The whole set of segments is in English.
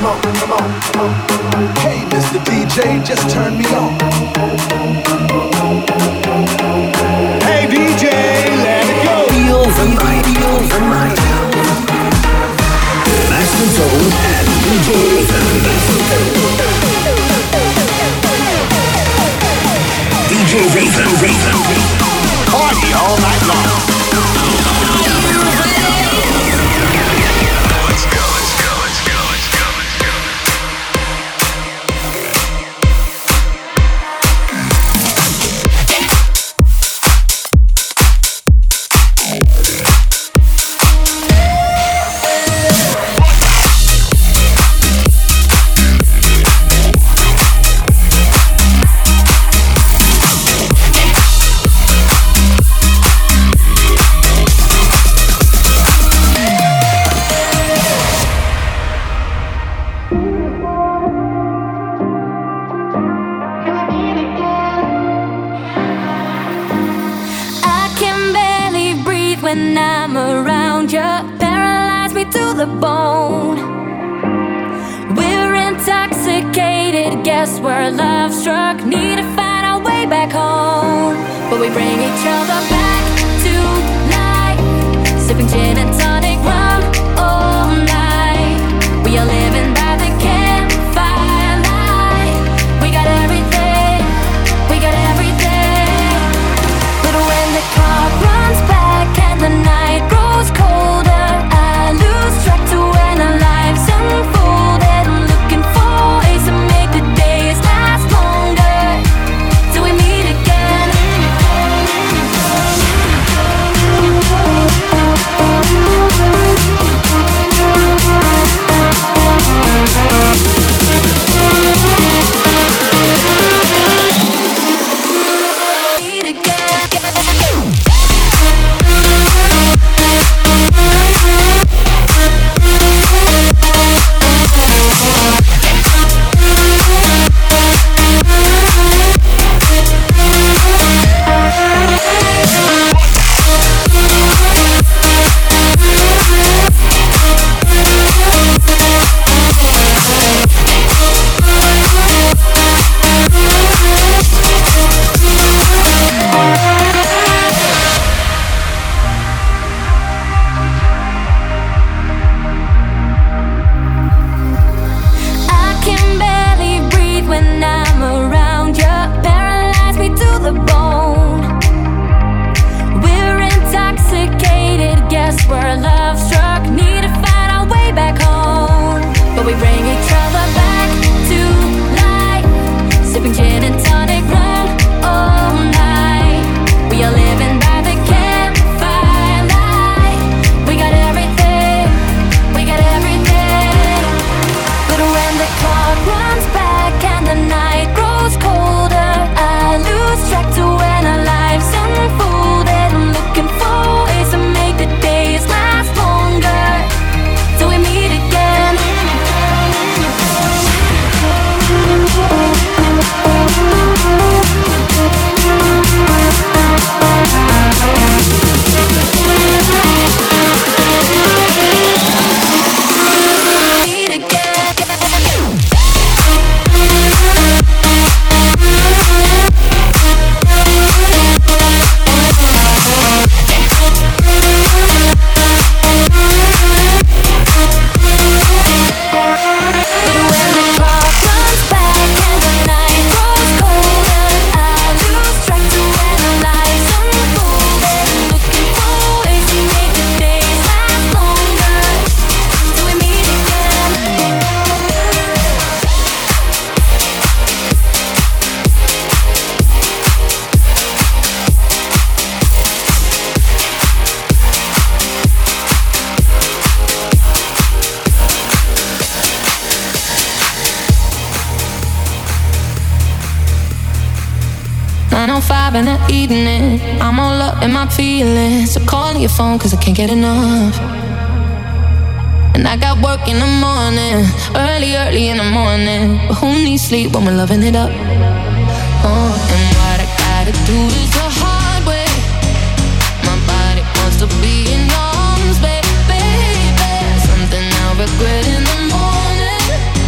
Hey, Mr. DJ, just turn me on. Hey, DJ, let it go. Feel the night, feel the night. Master Zone and DJ Raven. Party all night long. When I'm around you, paralyze me to the bone. We're intoxicated, guess we're love struck. Need to find our way back home, but we bring each other back to life. Sipping gin and tonic rum all night. We are living by the campfire light. We got everything, we got everything. But when the clock runs back and the night grows colder, I lose track to when our lives unfolded. I'm looking for ways to make the days last longer till we meet again. In the evening, I'm all up in my feelings. So call your phone cause I can't get enough. And I got work in the morning, early in the morning. But who needs sleep when we're loving it up? Oh, and what I gotta do is the hard way. My body wants to be in your arms, baby. Something I'll regret in the morning.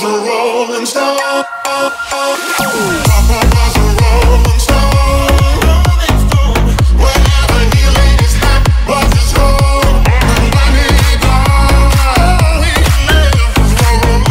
a rolling stone. Papa was a rolling stone. Wherever he laid his hat was his home. And when he gone, he lived his rolling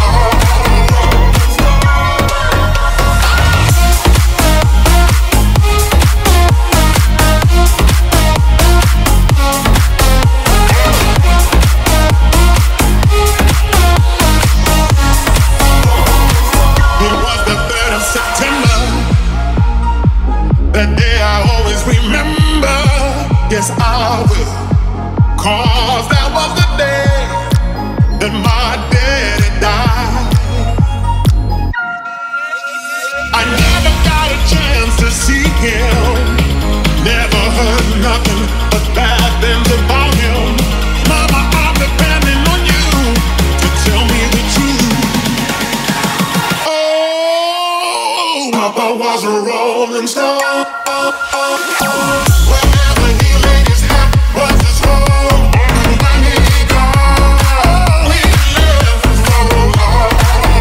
that day I always remember. Yes, I will. 'Cause that was the day that my daddy died. I never got a chance to see him. Never heard nothing but bad things about him. Mama, I'm depending on you to tell me the truth. Oh, Papa was a rolling stone. Wherever he laid his hat was his home. And when he gone, he lived his rolling life.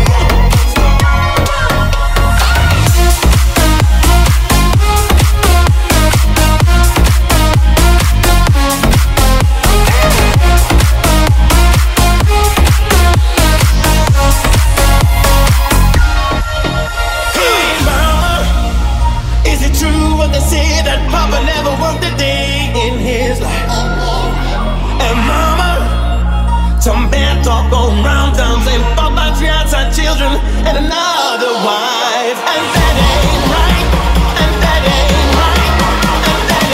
Say that Papa never worked a day in his life. And Mama, some bad talk going round town saying Papa treats our children and another wife. And that ain't right. And that ain't right. And that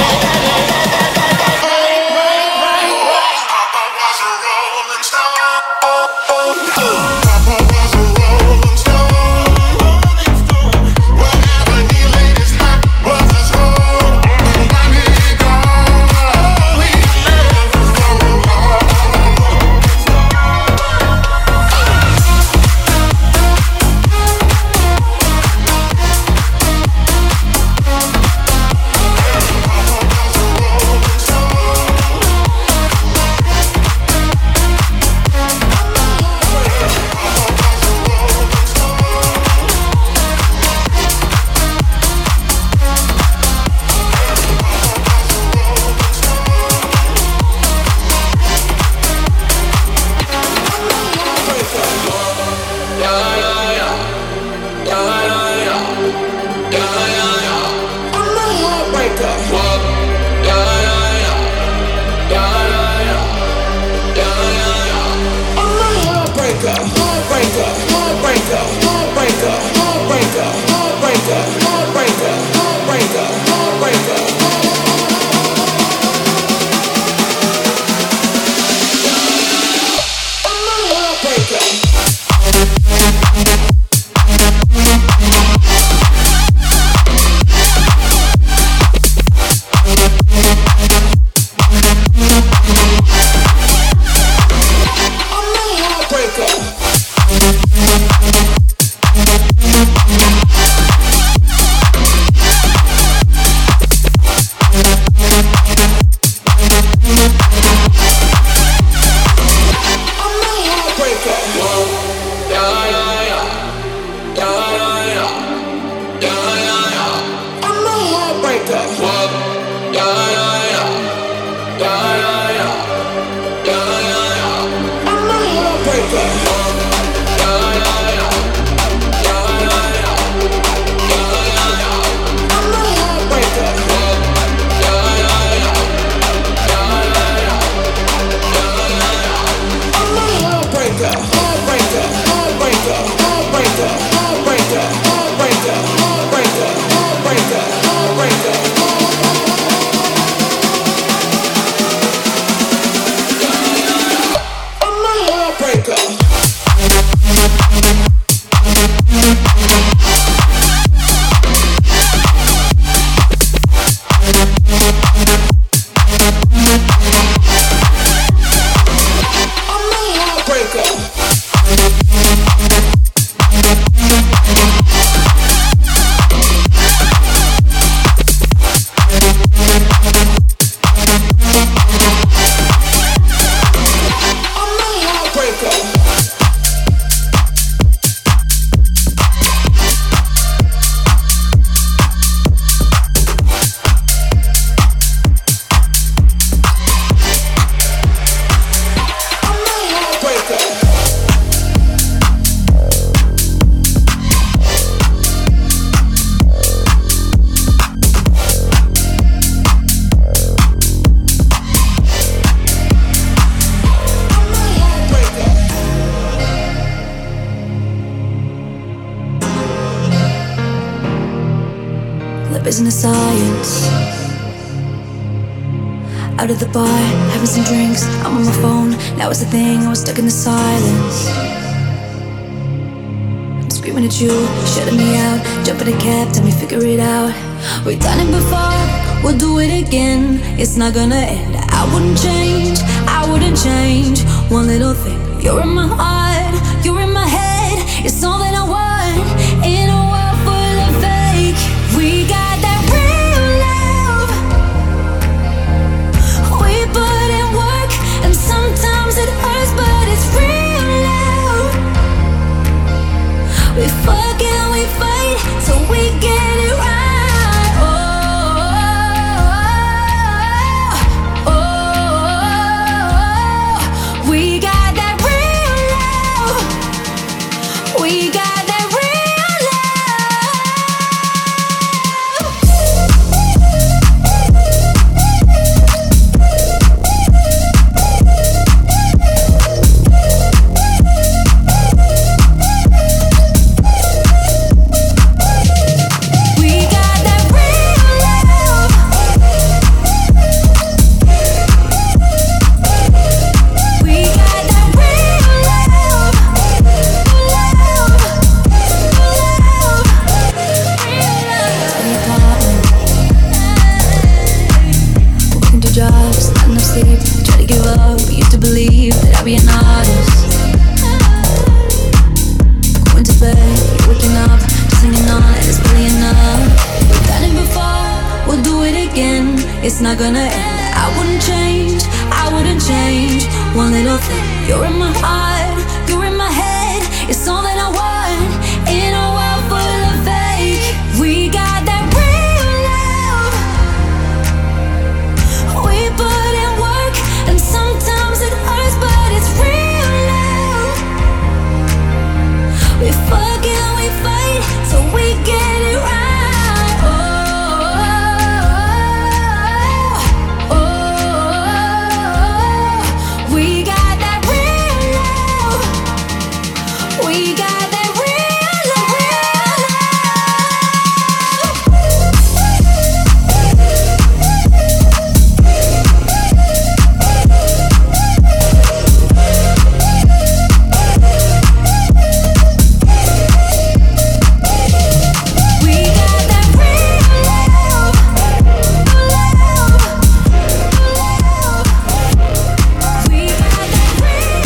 ain't right. Papa was a rolling stone. Papa was a rolling stone. Wherever he laid his hat was his home. And when he gone, he lived his rolling life. Breaker. business science. Out of the bar, having some drinks. I'm on my phone, now it's the thing. I was stuck in the silence. I'm screaming at you, shutting me out. Jump in a cab, tell me figure it out. We've done it before, we'll do it again. It's not gonna end. I wouldn't change, I wouldn't change one little thing. You're in my heart, you're in my head. It's all that I want in a world full of fake. We got that real love. We put in work, and sometimes it hurts, but it's real love. We fuck and we fight till we get it right. We got that real be an artist. Going to bed, you're waking up, just hanging on, and it's really enough. We've done it before, we'll do it again. It's not gonna end. I wouldn't change, I wouldn't change one little thing. You're in my heart, you're in my head. It's all that I want in a world full of fake. We got that real love. We put in work, and sometimes it hurts, but it's real love. We fuck and we fight till we get it right. Oh, oh, oh, we got that real love. We got that real love. We got that real love. We got that real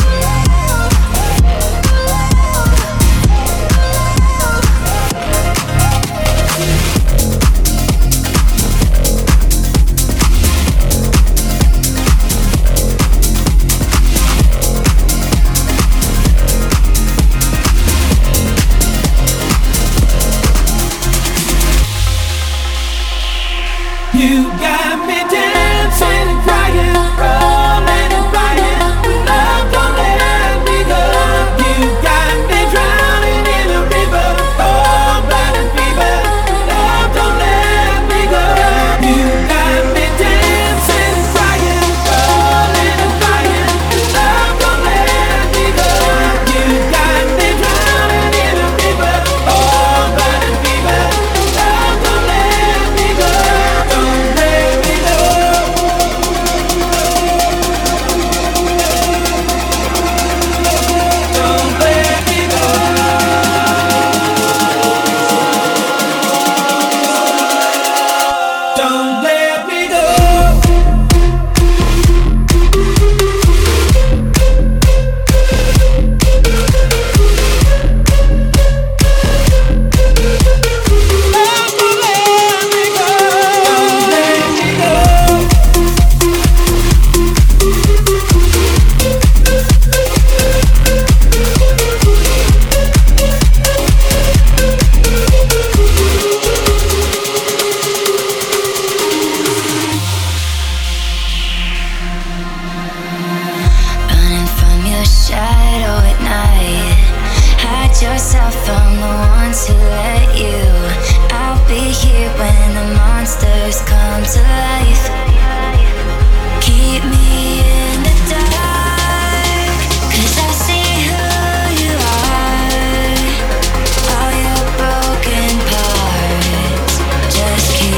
You got me dancing and crying, rolling and flying. Love don't let me go. You got me drowning in a river, cold blood and fever. Love don't let me go. You got me dancing and crying, rolling and flying. Love don't let me go. You got me drowning in a river, cold blood and fever. Love don't let me go. Don't let me go. Don't let me go. Don't let me go. Running from your shadow at night. Hide yourself from the ones who let you. I'll be here when the monsters come to life. Keep me in the dark, 'cause I see who you are. All your broken parts, just keep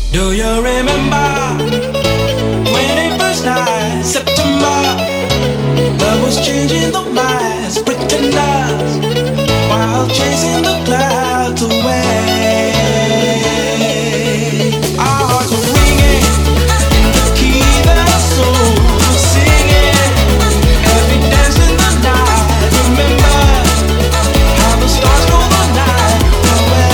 Do you remember 21st night, September? Love was changing the minds, pretenders, while chasing the clouds away. Our hearts were ringing, keep our souls were singing. Every dance in the night, remember how the stars go the night away.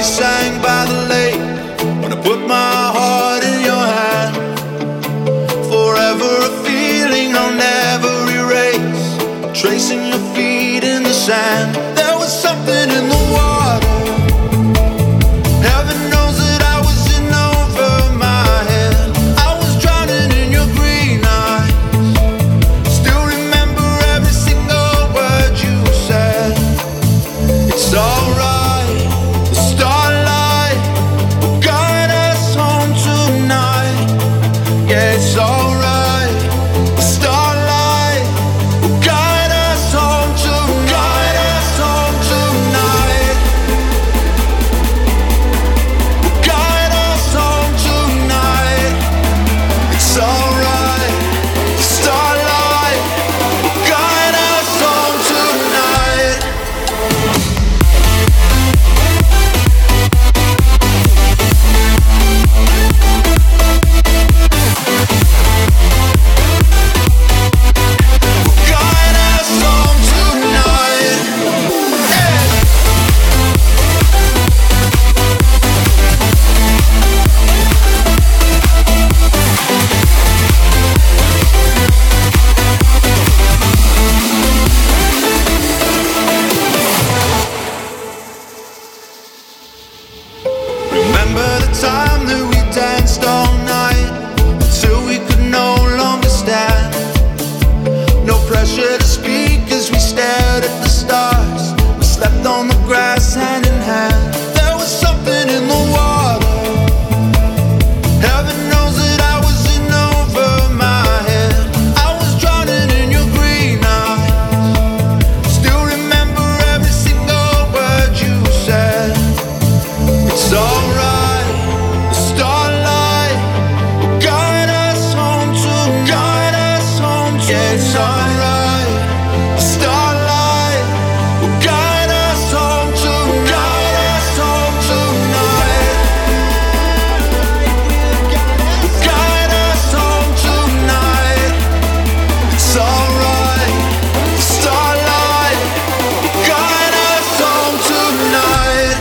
sang by the lake when I put my heart in your hand. Forever a feeling I'll never erase, tracing your feet in the sand. There was something in the water. Heaven knows that I was in over my head. I was drowning in your green eyes. Still remember every single word you said. It's alright, the starlight will guide us home tonight. Yeah, it's alright, the starlight will guide us home tonight. Us home tonight. Will guide us home tonight. It's alright, the starlight will guide us home tonight. Guide us home tonight. Remember the time that we danced all night until we could no longer stand. No pressure to speak as we stared at the stars. We slept on the grass hand in hand. There was something in the water. Heaven knows that I was in over my head. I was drowning in your green eyes. Still remember every single word you said. It's alright, the starlight will guide us home tonight. Guide us home tonight. Yeah, it's alright, the starlight will guide us home tonight. Guide us home tonight. Guide us home tonight. It's alright, the starlight will guide us home tonight.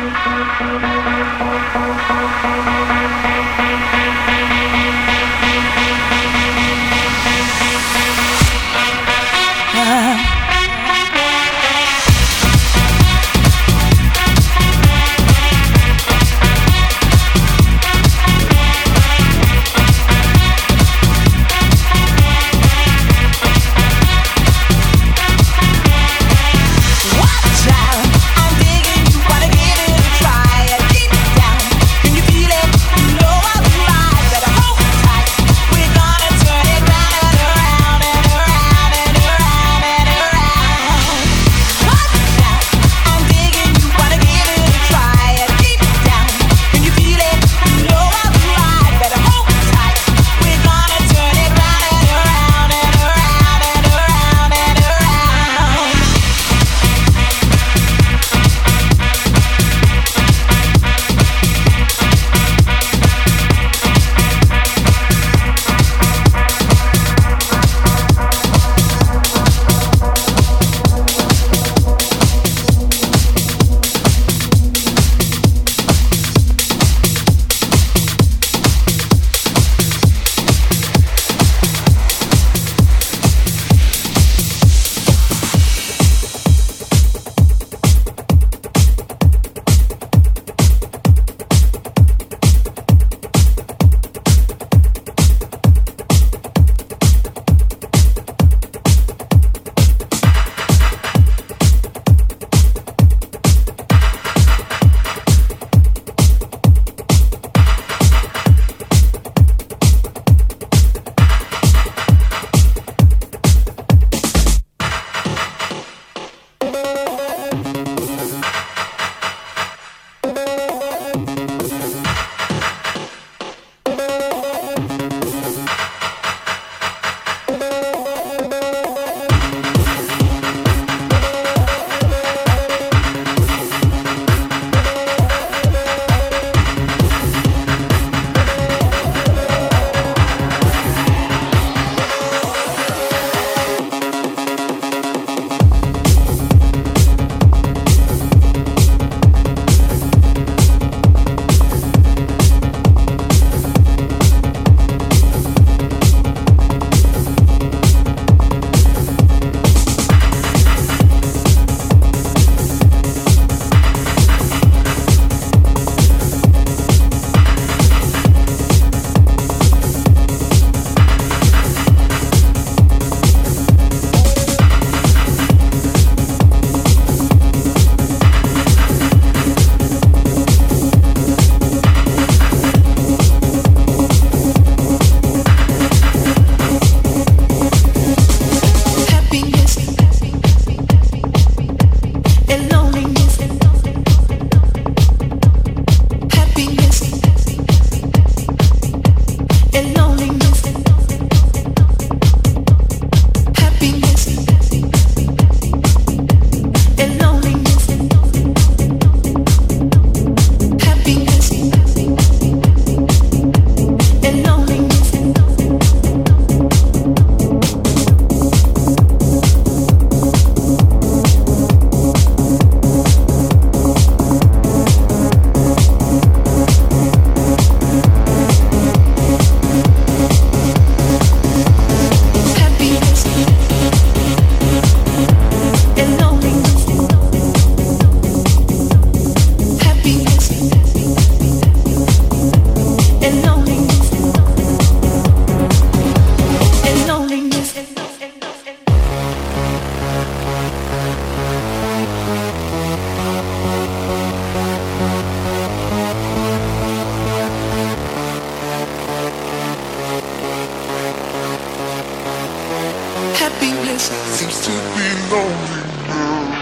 Happiness seems to be lonely now.